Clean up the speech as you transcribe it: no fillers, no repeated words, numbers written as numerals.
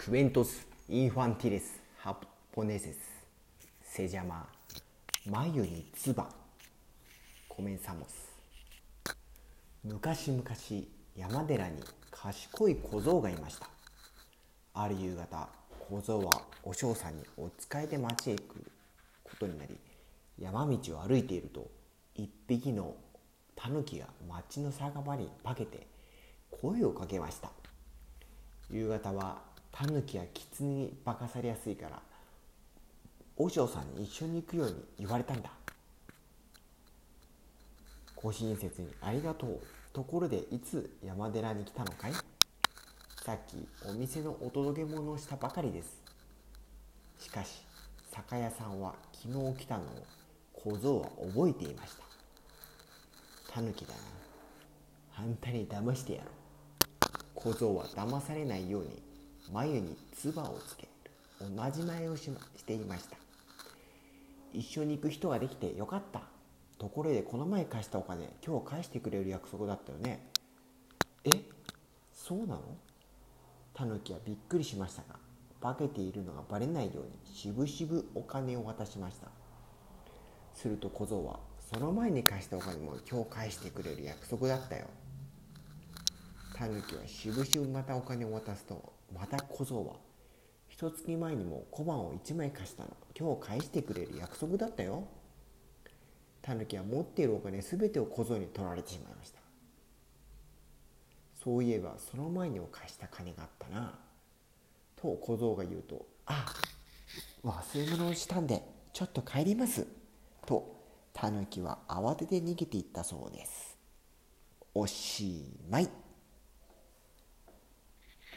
クエントス・インファンティレス・ハポネセス・セジャマ眉に唾コメンサモス。昔々山寺に賢い小僧がいました。ある夕方、小僧はお嬢さんにお使いで町へ行くことになり、山道を歩いていると一匹のタヌキが町の酒場に化けて声をかけました。夕方はタヌキやキツネに化かされやすいから和尚さんに一緒に行くように言われたんだ。ご親切にありがとう。ところでいつ山寺に来たのかい？さっきお店のお届け物をしたばかりです。しかし酒屋さんは昨日来たのを小僧は覚えていました。タヌキだな。あんたに騙してやろう。小僧は騙されないように眉に唾をつけるおまじないをしていました。一緒に行く人ができてよかった。ところでこの前貸したお金今日返してくれる約束だったよね。え、そうなの？タヌキはびっくりしましたが、化けているのがバレないようにしぶしぶお金を渡しました。すると小僧は、その前に貸したお金も今日返してくれる約束だったよ。タヌキはしぶしぶまたお金を渡すと、また小僧は、一月前にも小判を1枚貸したの、今日返してくれる約束だったよ。タヌキは持っているお金すべてを小僧に取られてしまいました。そういえばその前にも貸した金があったな、と小僧が言うと、忘れ物をしたんでちょっと帰りますとタヌキは慌てて逃げていったそうです。おしまい。